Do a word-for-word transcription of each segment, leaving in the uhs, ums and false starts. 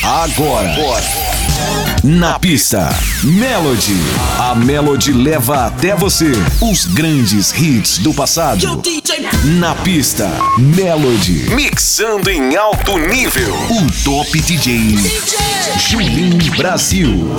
Agora, na pista, Melody. A Melody leva até você os grandes hits do passado. Na pista, Melody. Mixando em alto nível. O Top D J, Julinho Brasil.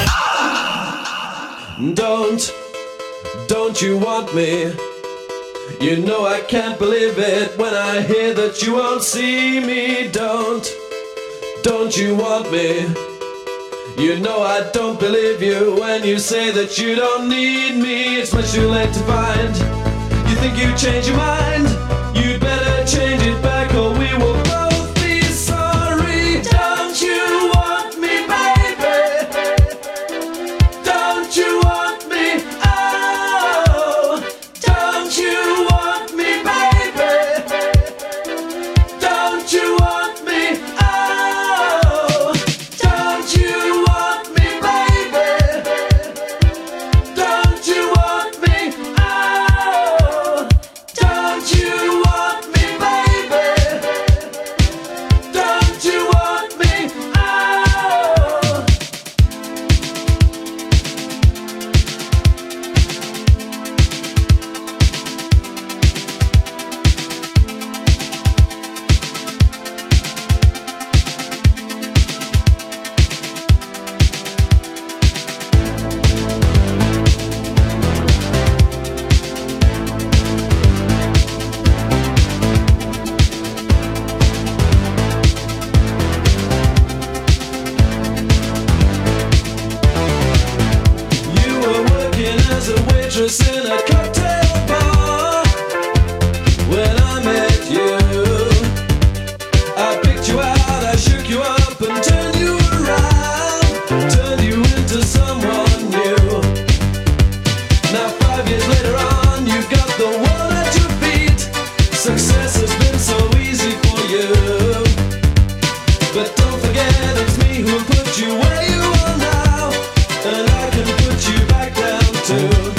Don't, don't you want me? You know I can't believe it when I hear that you won't see me. Don't, don't you want me? You know I don't believe you when you say that you don't need me. It's much too late to find. You think you changed your mind? You'd better change it back or we will both be sorry. Don't you want me, baby? Don't you want me? Oh, don't you want me, baby? Don't you want me? Oh, don't you want me, baby? Don't you want me? Oh, don't you want me, baby? Don't you want me? Oh. You were working as a waitress in a cocktail bar when I met you. I picked you out, I shook you up and turned you around, turned you into someone new. Now five years later on, you've got the world at your feet. Success has been so easy for you, but don't forget it's me who put you where you are now, and I can put you back down too.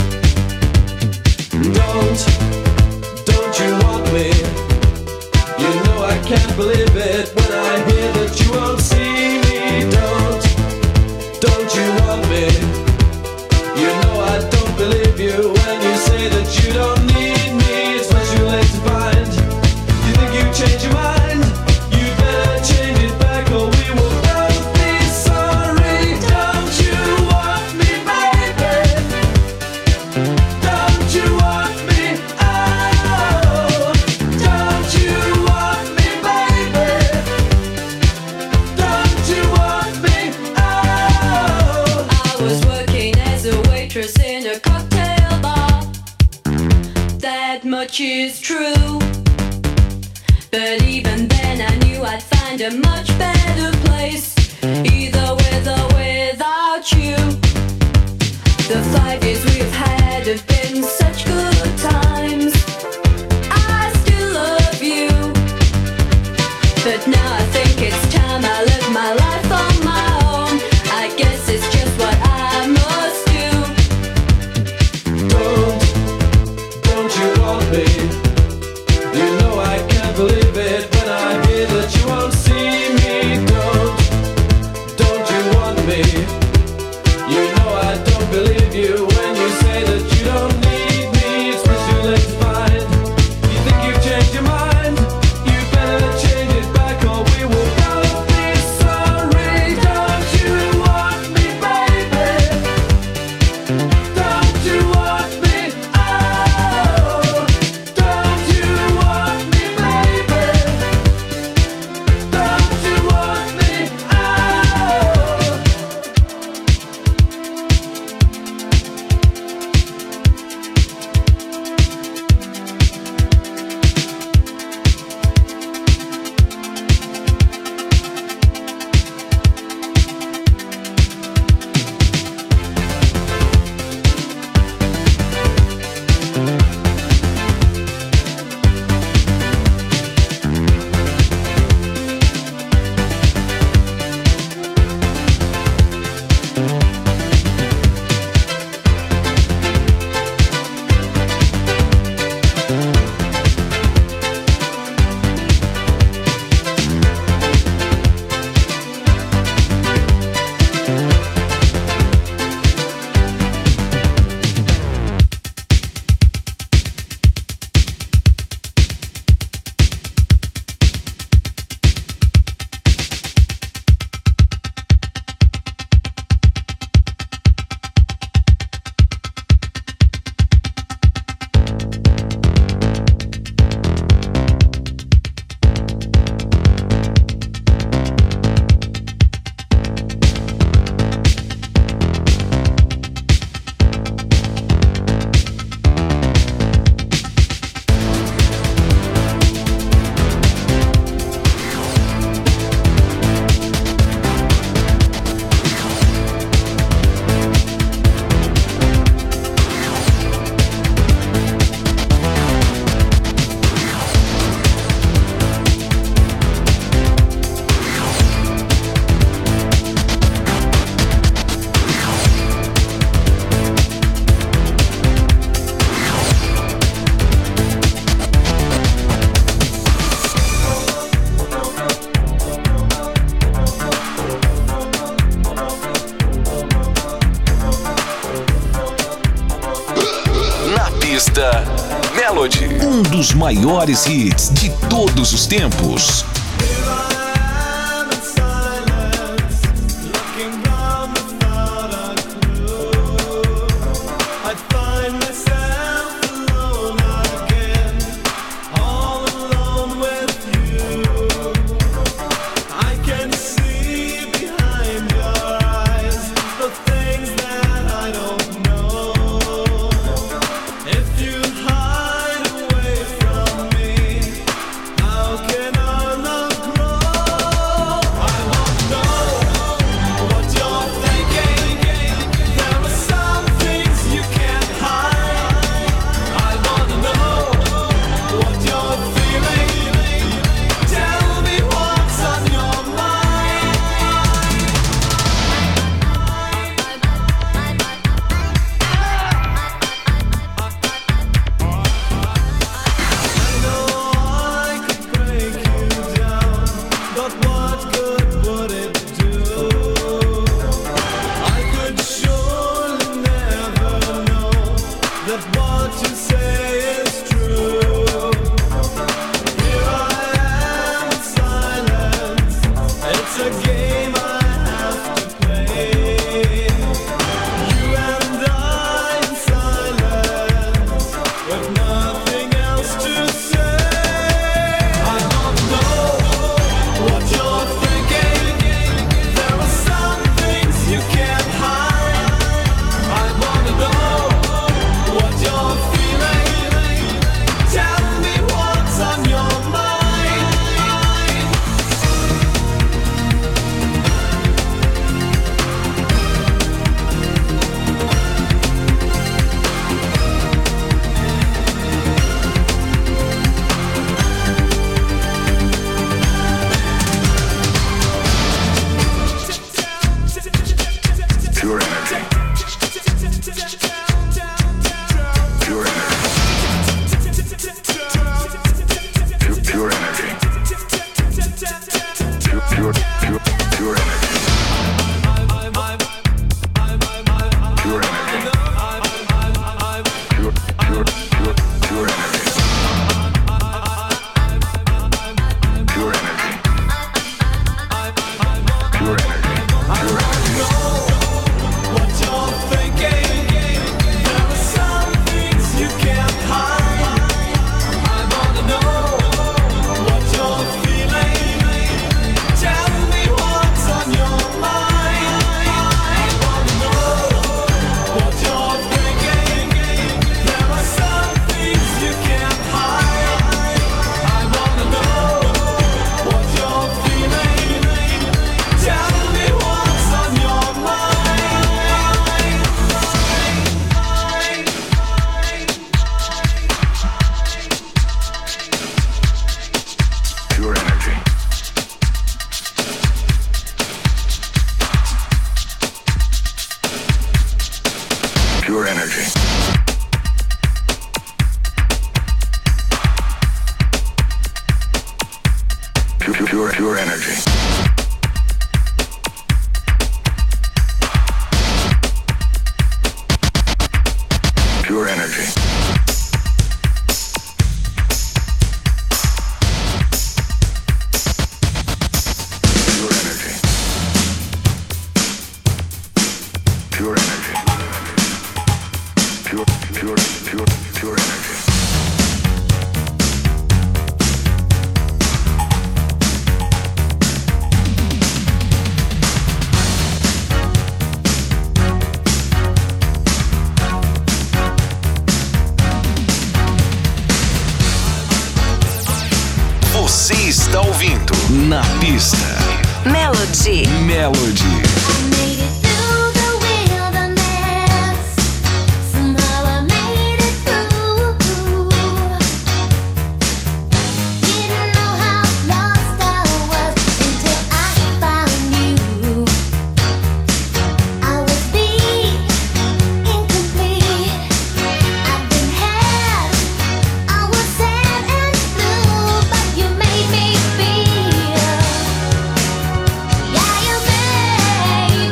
Don't, don't you want me? You know I can't believe it when I hear that you won't see me. Don't, don't you want me? You know I don't believe you when you say that you don't need me. It's much too late to find. You think you changed your mind? You better change it back or we will both be sorry. Don't you want me, baby? Don't you want me? Oh, don't you want me, baby? Don't you want me? Oh. I was working as a waitress in a cocktail bar. That much is true. But even then I knew I'd find a much better place, either with or without you. The five years we've had have been such good times. I still love you, but now I think it's time I live my life on my own. I guess it's just what I must do. Don't, don't you want me? You know I can't believe it when I hear that you won't see me. Don't, don't you want me? You know I don't believe you when you say that you don't need me. Os maiores hits de todos os tempos. Na pista. Melody. Melody. Yeah, you made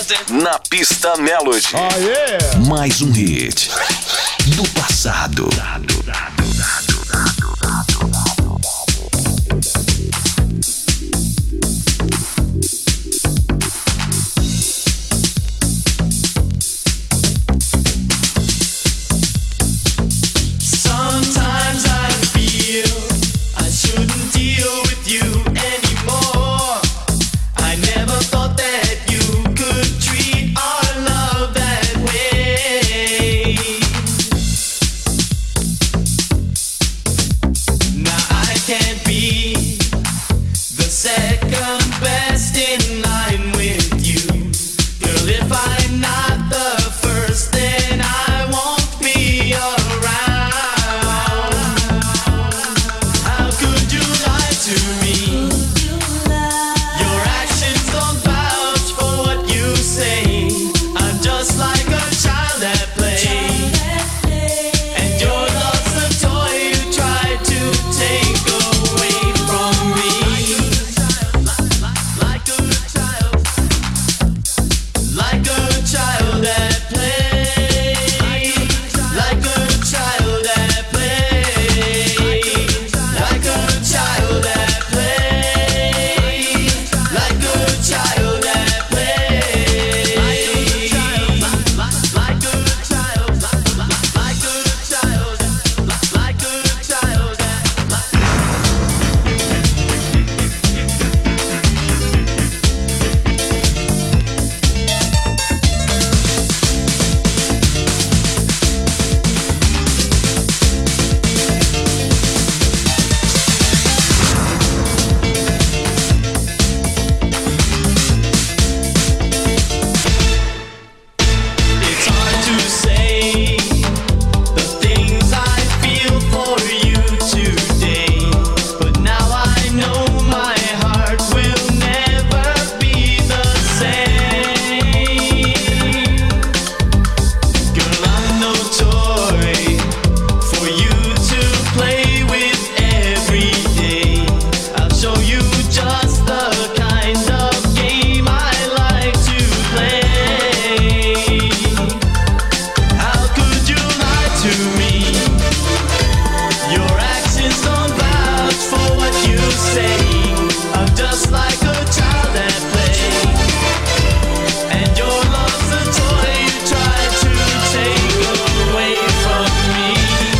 Na pista Melody. Oh, yeah. Mais um hit do passado. Sometimes I feel I shouldn't deal with you anymore. I never thought that you could treat our love that way. Now I can't be the second best in line with you. Girl, if I'm not the first, then I won't be around. How could you lie to me? Your actions don't vouch for what you say. I'm just like a child at play, and your love's a toy you try to take away from me. Like a child, like a child at play, like a child at play, like a child at play, like a child at play, like a child, like a child, like a child It's hard to say the things I feel for you today, but now I know my heart will never be the same. Girl, I'm no toy for you to play with every day. I'll show you just the kind of game I like to play. How could you lie to me? Your actions don't vouch for what you say. I'm just like a child at play, and your love's a toy you try to take away from me.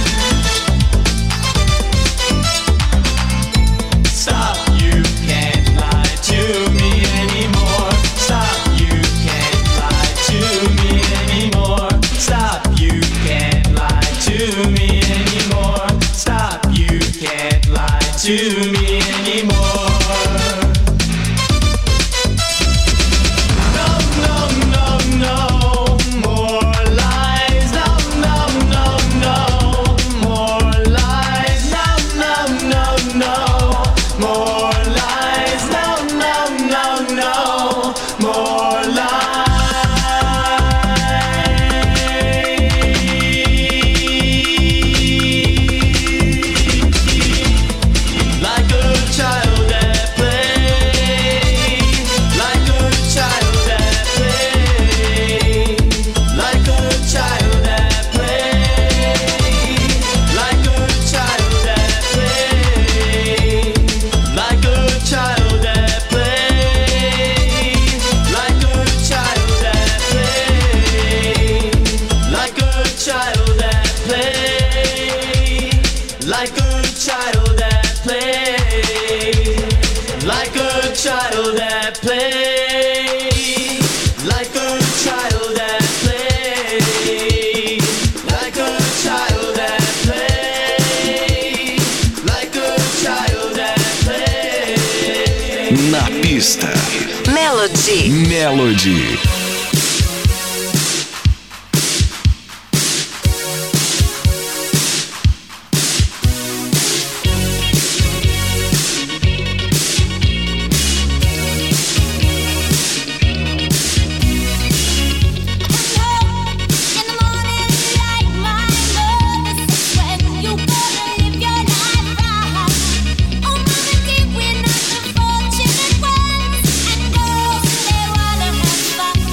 Stop, you can't lie to me anymore. Stop, you can't lie to me anymore. Stop, you can't lie to me anymore. Stop, you can't lie to me anymore. No, no, no, no more lies. No, no, no, no more lies. No, no, no, no more lies. No, no, no, no more lies. Like a child at play, like a child at play, like a child at play, like a child at play, like a child at play, like a child at play, like a child at play, like a child at play, like a child at play, like a child at play, like a child at play, like a child at play. Na pista Melody. Melody. We're not the fortunate ones, and those they wanna have fun.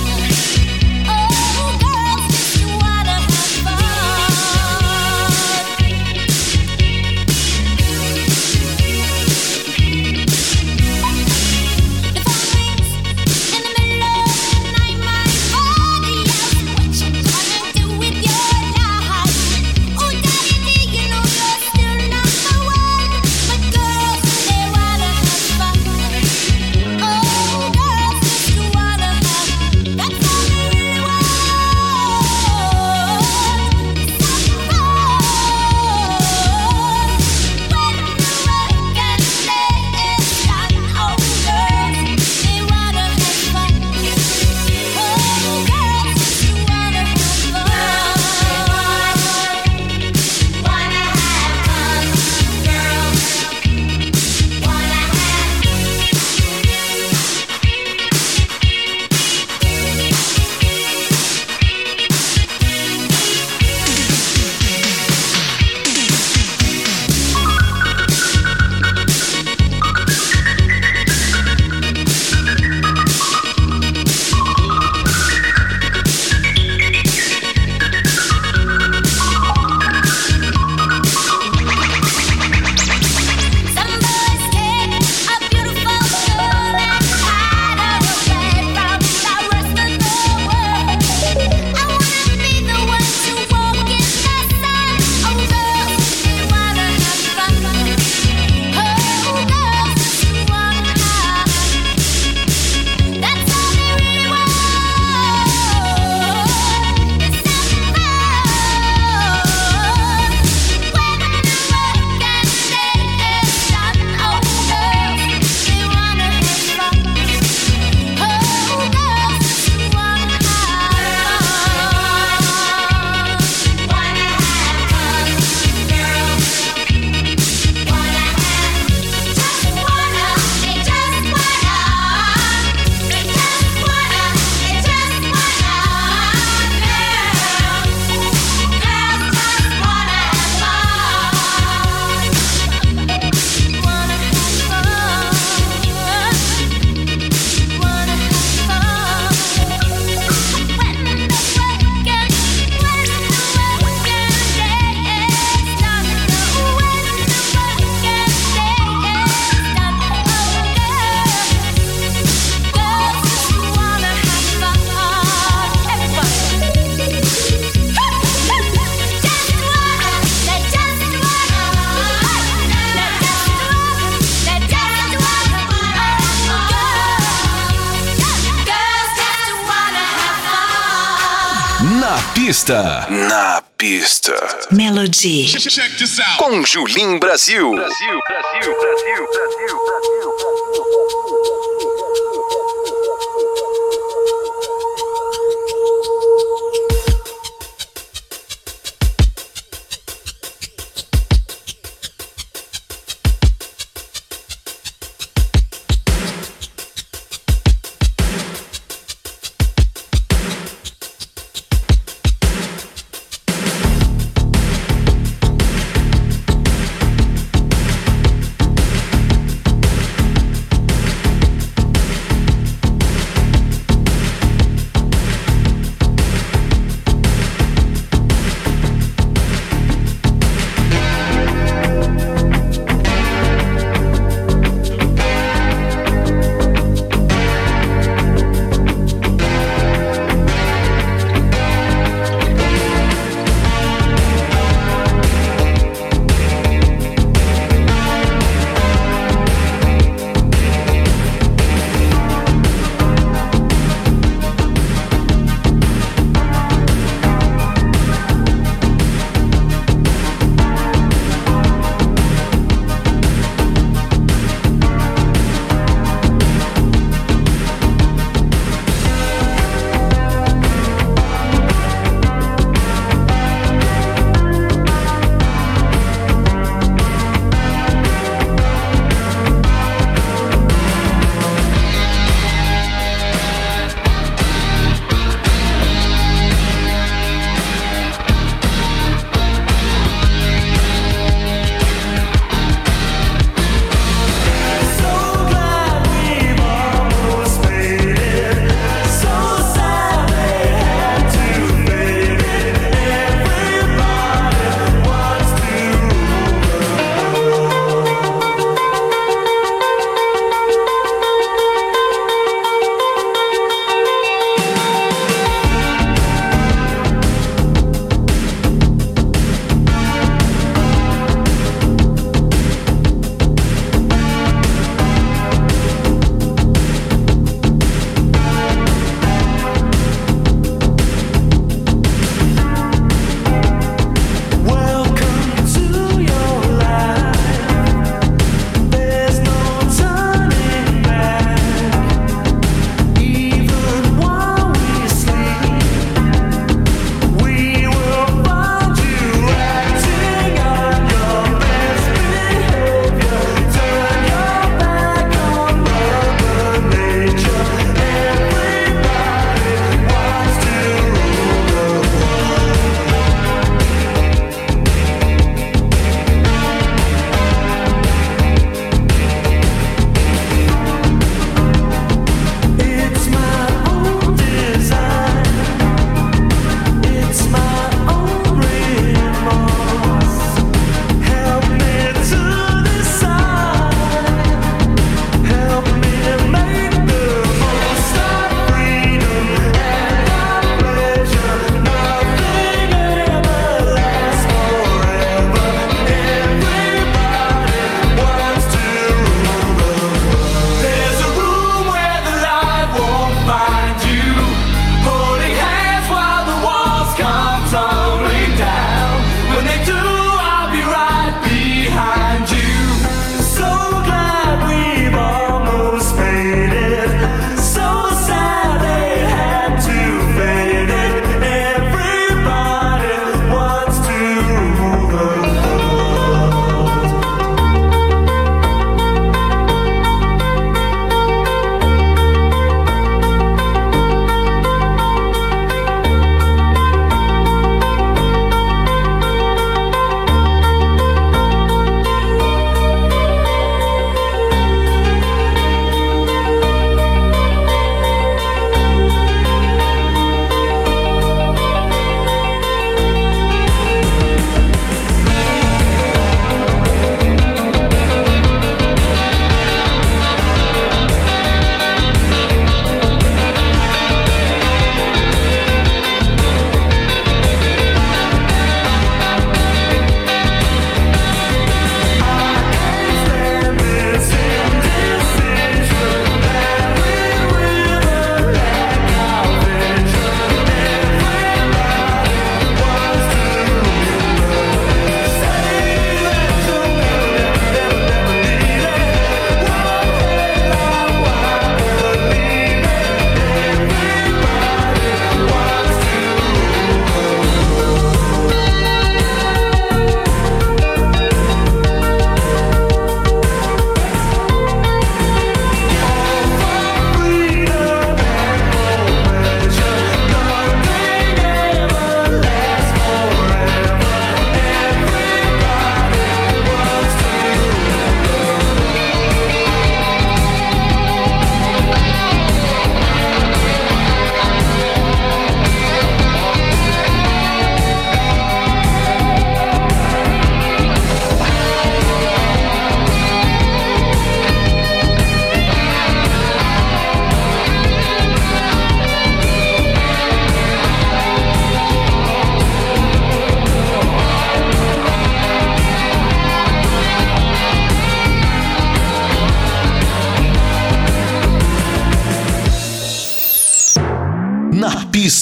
pista. Na pista. Melody. Check this out. Com Julim Brasil. Brasil, Brasil, Brasil, Brasil, Brasil,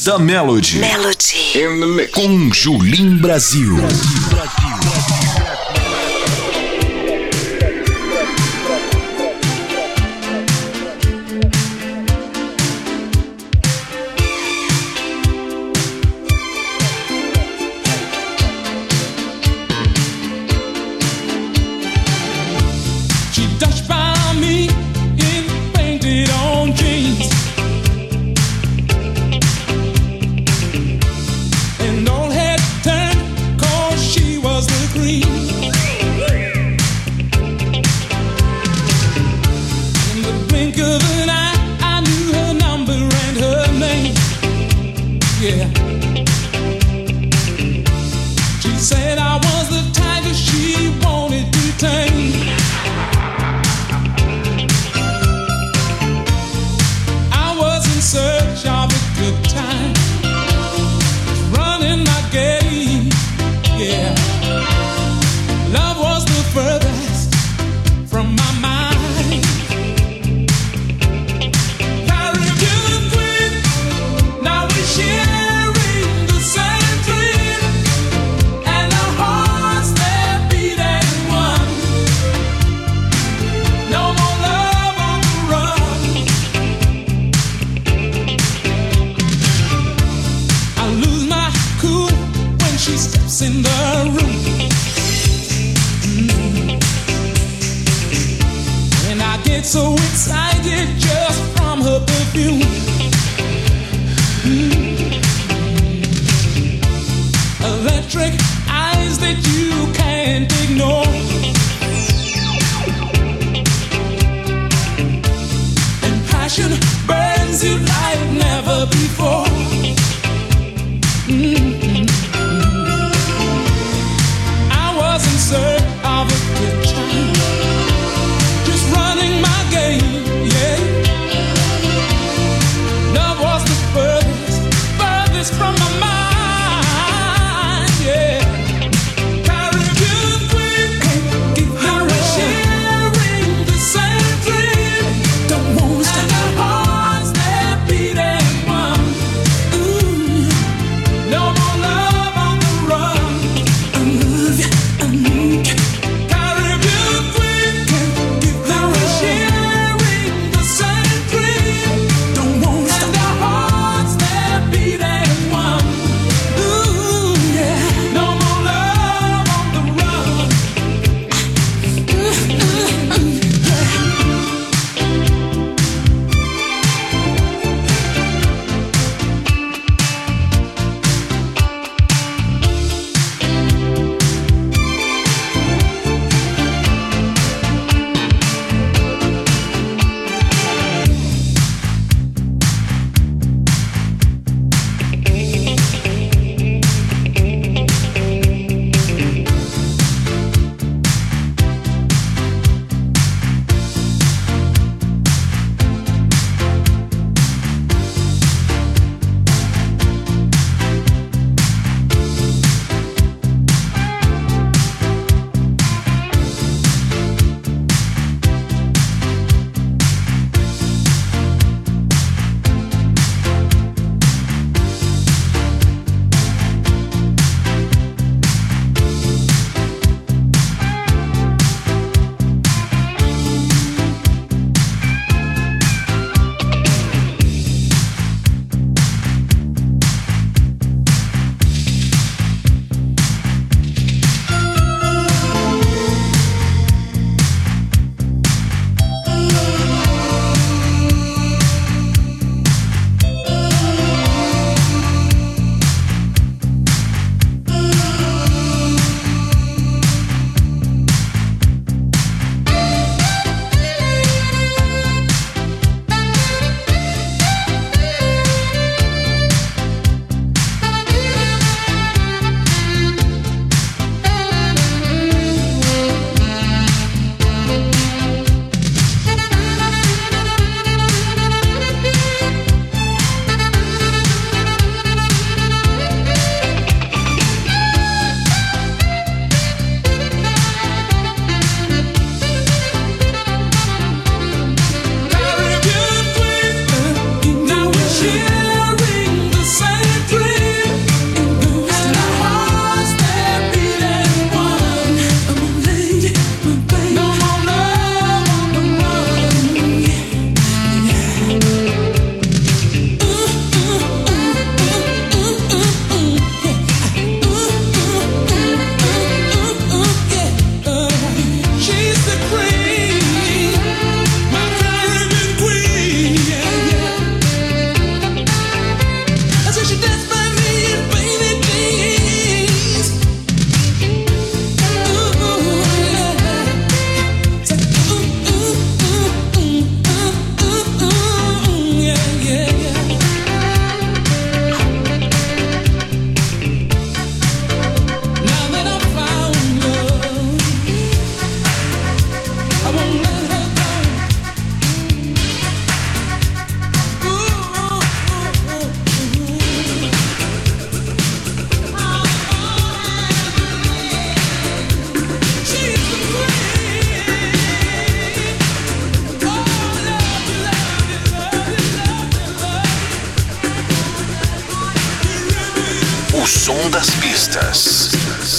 Pista Melody. Melody. In the mix. Com Julim Brasil.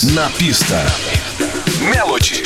Na pista, Melody.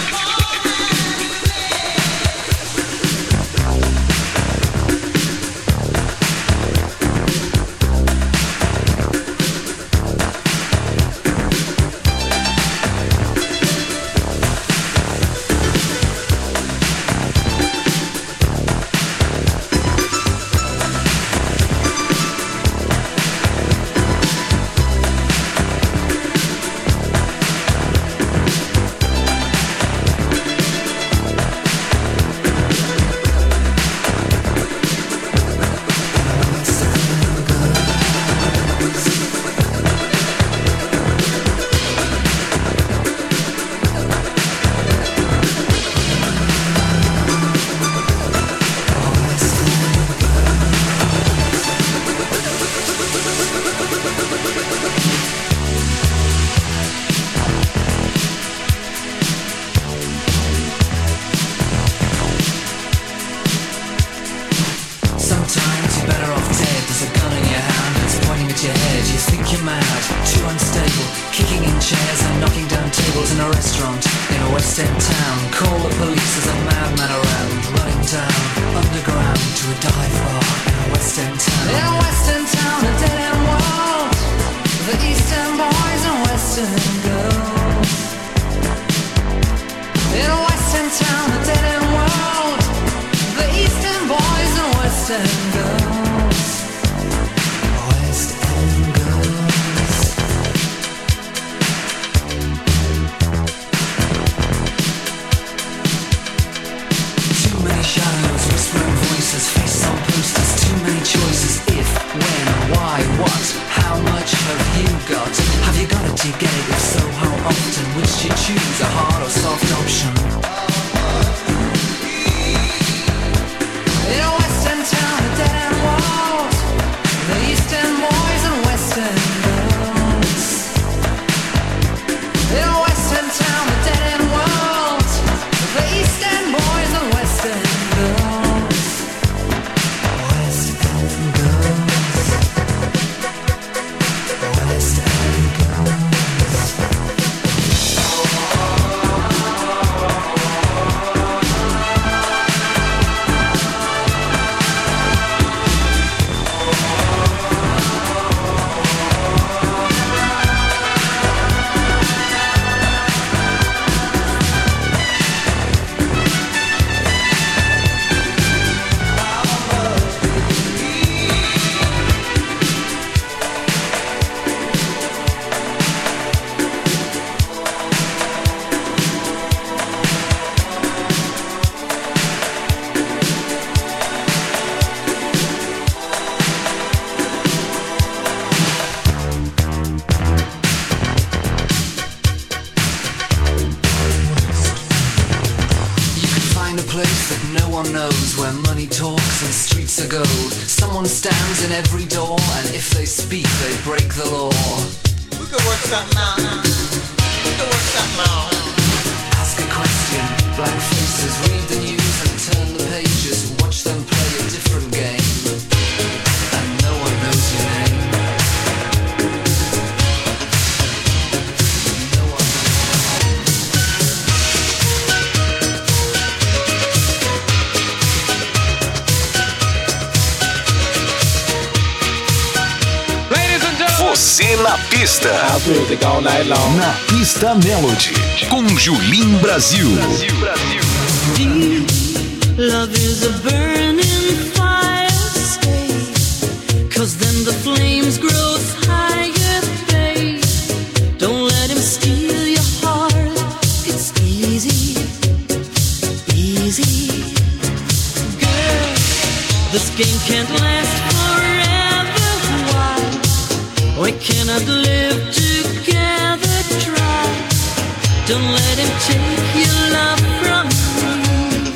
Você na pista. Na pista Melody. Com Julim Brasil. Brasil, Brasil. Deep love is a burning fire, stay. Cause then the flames grow higher, babe. Don't let him steal your heart. It's easy, easy. Girl, this game can't last forever. Why? We cannot live together, try. Don't let him take your love from me.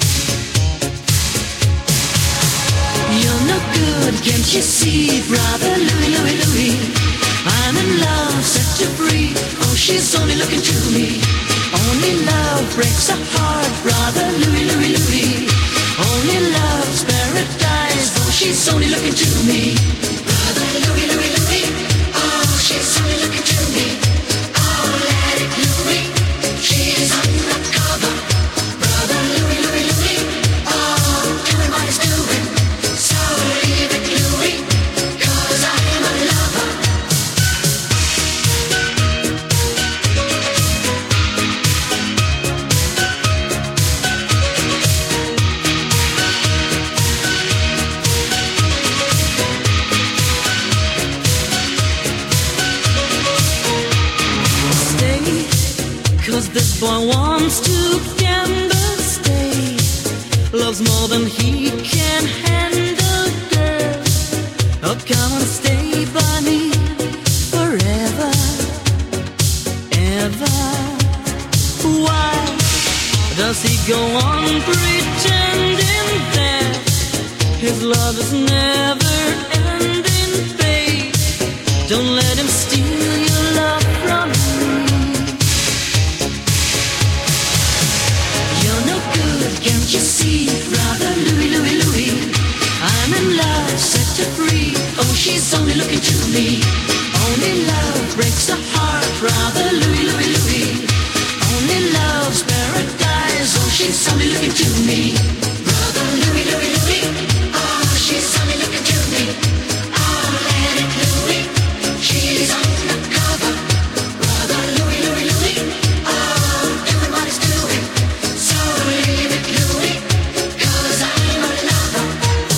You're no good, can't you see, brother Louie, Louie, Louie? I'm in love, set you free. Oh, she's only looking to me. Only love breaks a heart, brother Louie, Louie, Louie. Only love's paradise. Oh, she's only looking to me. Brother Louie, Louie, Louie. Oh, she's only looking to me. Oh, let it 'cause this boy wants to gamble, stay. Loves more than he can handle, girl. Oh, come and stay by me forever, ever. Why does he go on pretending that his love is never ending, babe? Don't let him steal your love from me. You're no good, can't you see, brother Louie, Louie, Louie? I'm in love, set her free. Oh, she's only looking to me. Only love breaks the heart, brother Louie, Louie, Louie. Only love's paradise. Oh, she's only looking to me. Brother Louie, Louie, Louie. Oh, she's only looking to me. Oh, let it Louie. She's undercover. Brother Louie, Louie, Louie. Oh, doing what he's doing. So leave it Louie, 'cause I'm a lover.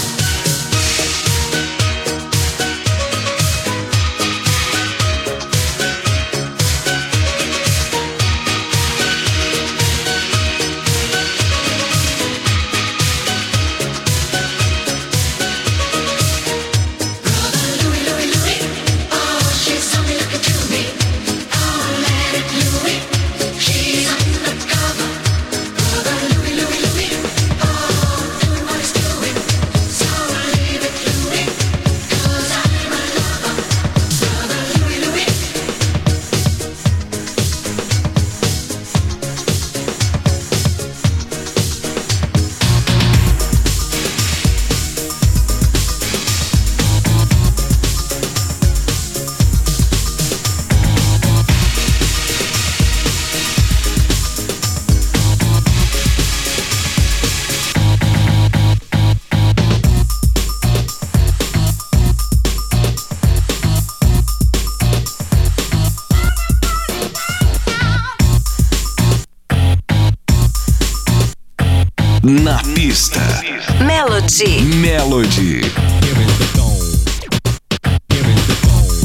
Na pista. Melody. Melody. Here is the gong. Here is the gong.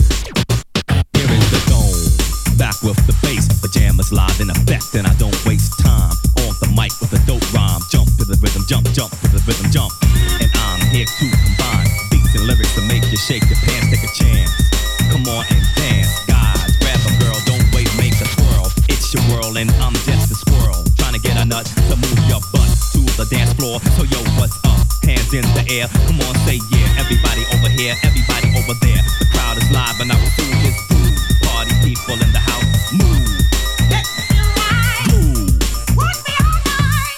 Here is the gong. Back with the bass, pajamas live in effect, and I don't waste time on the mic with a dope rhyme. Jump to the rhythm, jump, jump to the rhythm, jump. And I'm here to combine beats and lyrics to make you shake your pants, take a chance. Come on and dance, guys. Grab a girl, don't wait, make a twirl. It's your world, and I'm just a squirrel trying to get a nut to move your butt to the dance floor. So yo, what's up? Hands in the air. Come on, say yeah. Everybody over here, everybody over there. The crowd is live, and I will do this groove. Party people in the house, move. Let me ride. Groove. Work me all night.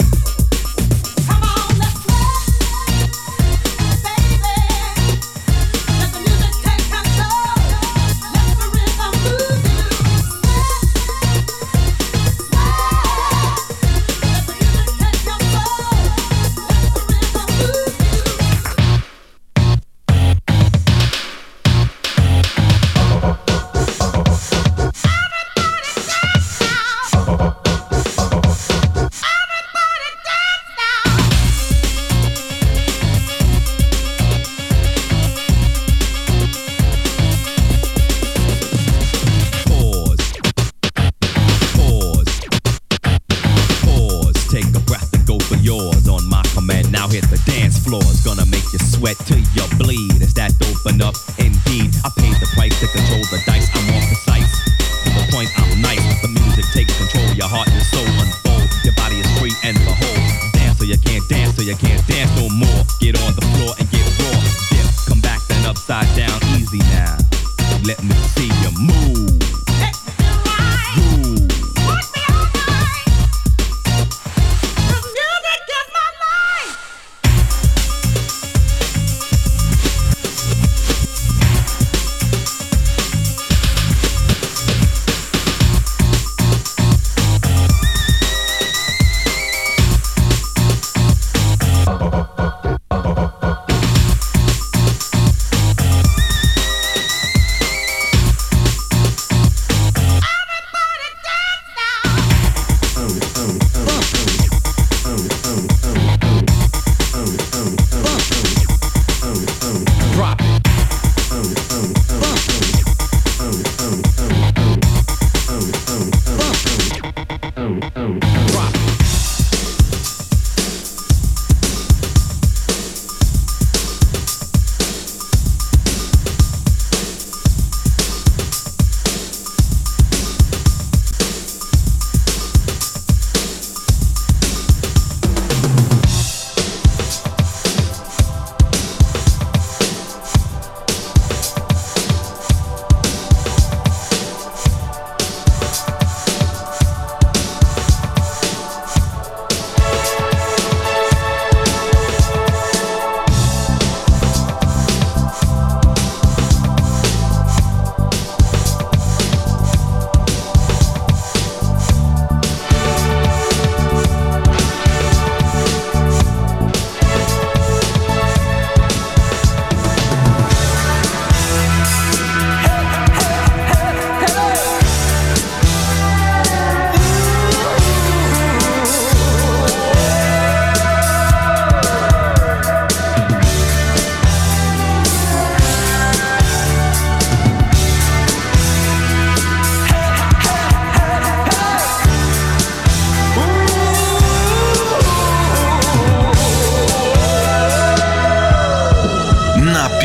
Come on, let's sweat, baby. Let the music take control. Let the rhythm move you. Sweat, sweat. Let the music take control. Let the rhythm move you. Pause. Pause. Pause. Take a breath and go for yours. On my command, now hit the dance floor. It's gonna make you sweat till you bleed. Is that dope enough? Indeed. I paid the price to control the dice. I'm more precise. To the point, I'm nice. The music takes control. Your heart and soul unfold. Your body is free and behold. Dance so you can't dance, so you can't dance no more. Get on the floor and get raw. Dip, come back then upside down. Easy now. Let me see you move. Let me ride. Groove. Work me all night. 'Cause music is my life.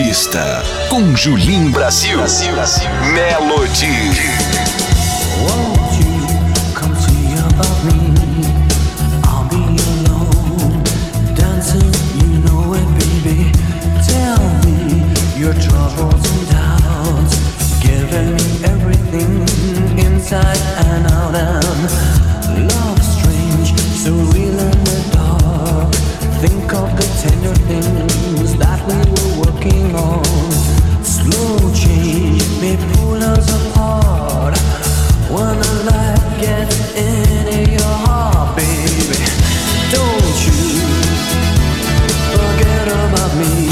pista, com Julim Brasil. Brasil, Brasil. Melody. Won't you come see about me? I'll be alone, dancing, you know it, baby. Tell me your troubles and doubts, giving me everything inside and out. And love strange, so real in the dark. Think of the tender things that we were working on. Slow change may pull us apart. When the light gets into your heart, baby, don't you forget about me.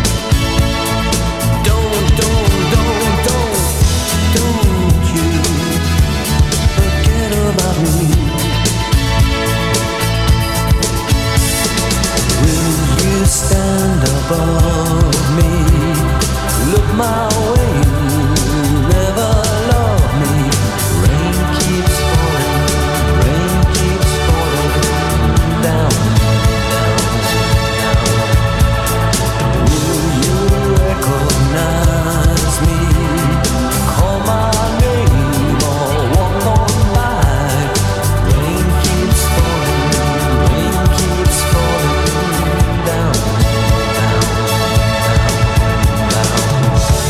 Don't, don't, don't, don't, don't you forget about me. Will you stand above me? Look my way, never love me. Rain keeps falling, rain keeps falling down, down, down. Will you recognize me? Call my name or walk on by. Rain keeps falling, rain keeps falling down, down, down, down.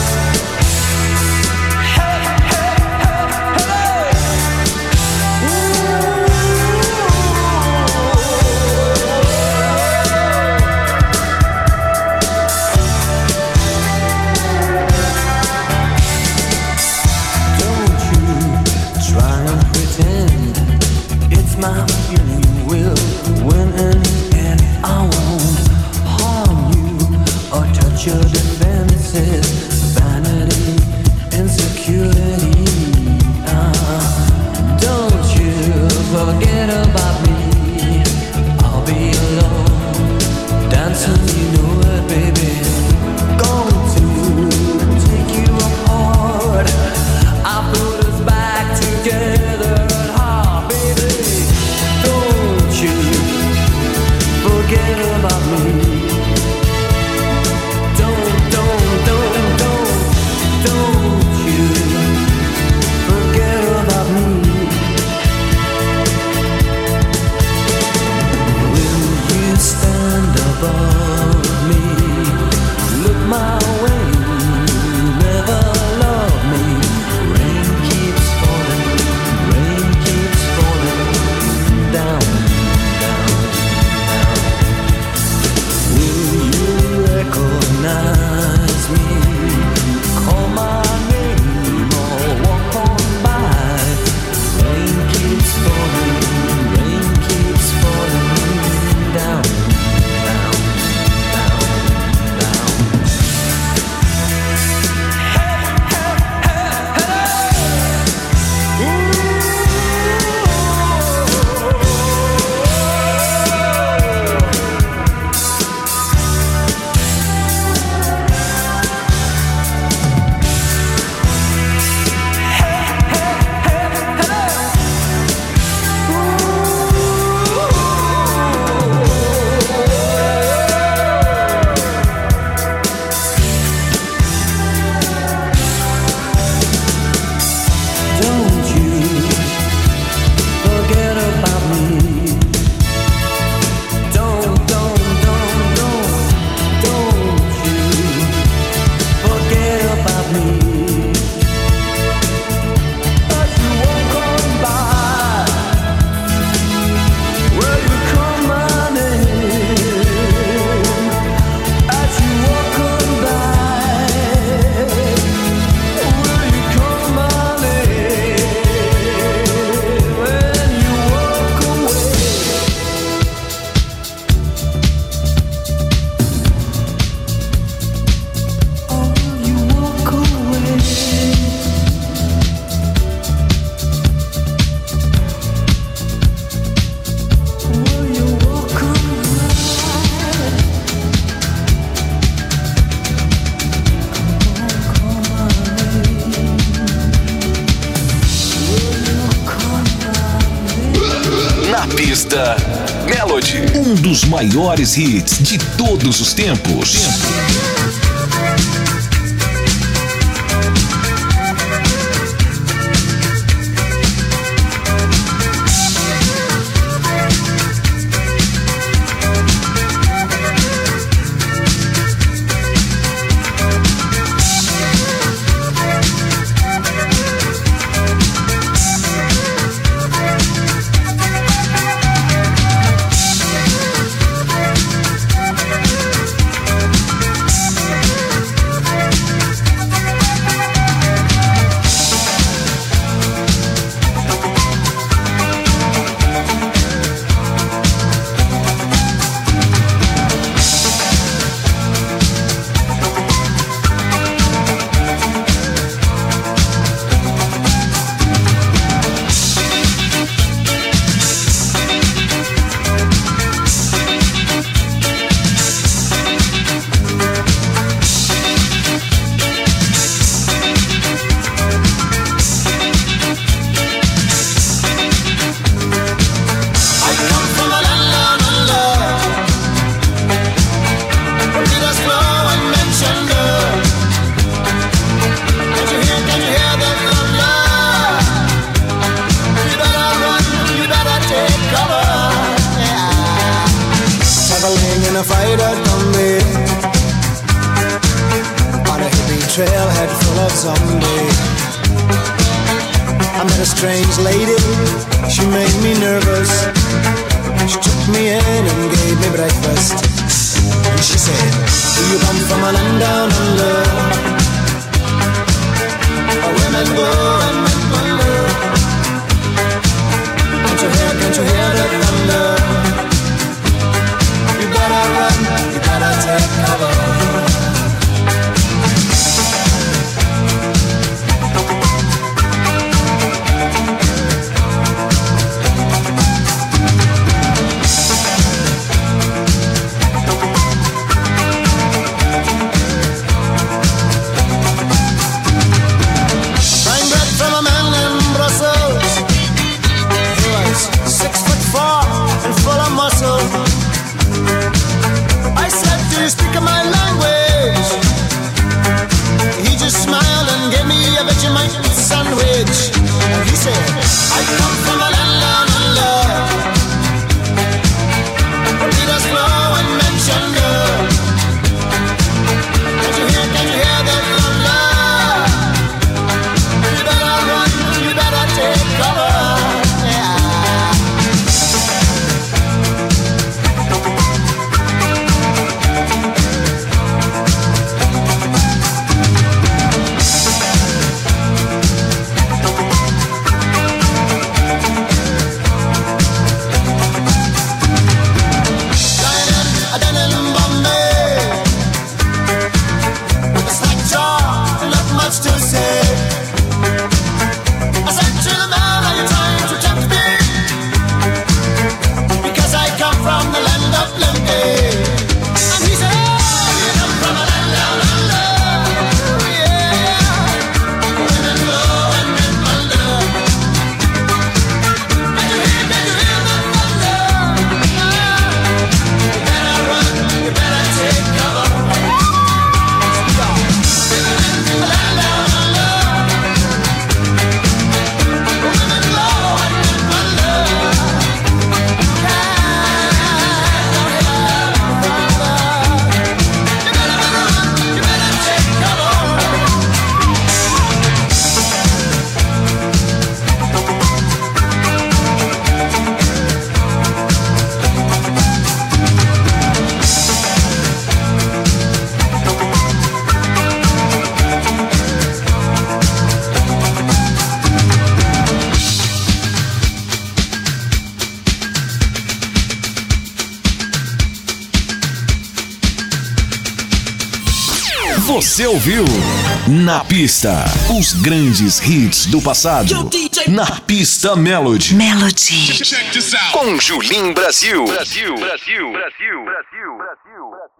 Don't you try and pretend it's my feeling you will win in the end. I won't harm you or touch your defenses. Vanity, insecurity. Ah, don't you forget about me. I'll be alone, dancing, you know it, baby. Going to take you apart. I put us back together at heart, baby. Don't you forget about me. Don't, don't, don't, don't, don't you forget about me. Will you stand above me? Look my way, never love me. Rain keeps falling, rain keeps falling down, down, down. Will you recognize me? Call my name or walk on by. Rain keeps falling, rain keeps falling down, down, down, down. Don't you forget about me. Don't, don't, don't, don't, don't you forget about me. As you walk on by, will you call my name? As you walk on by, will you call my name? When you walk away, oh, you walk away. Will you walk away? Call my name. Will you call my name? Na pista, Melody. Um dos maiores hits de todos os tempos. strange lady, she made me nervous. She took me in and gave me breakfast. And she said, do you come from a land down under? Where women go and men wonder. Can't you hear, can't you hear the thunder? You better run, you better take cover. Speaking my language, he just smiled and gave me a Vegemite sandwich. And he said, I come from a land down under, where leaders flow and men chunder. Can't you hear, can you hear the thunder? You better run, you better take cover. Você ouviu Na Pista, os grandes hits do passado. Na Pista Melody. Melody. Com Julim Brasil. Brasil, Brasil, Brasil, Brasil, Brasil.